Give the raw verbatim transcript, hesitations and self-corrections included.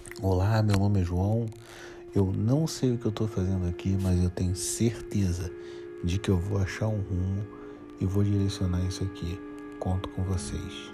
Olá, meu nome é João. Eu não sei o que eu estou fazendo aqui, mas eu tenho certeza de que eu vou achar um rumo e vou direcionar isso aqui. Conto com vocês.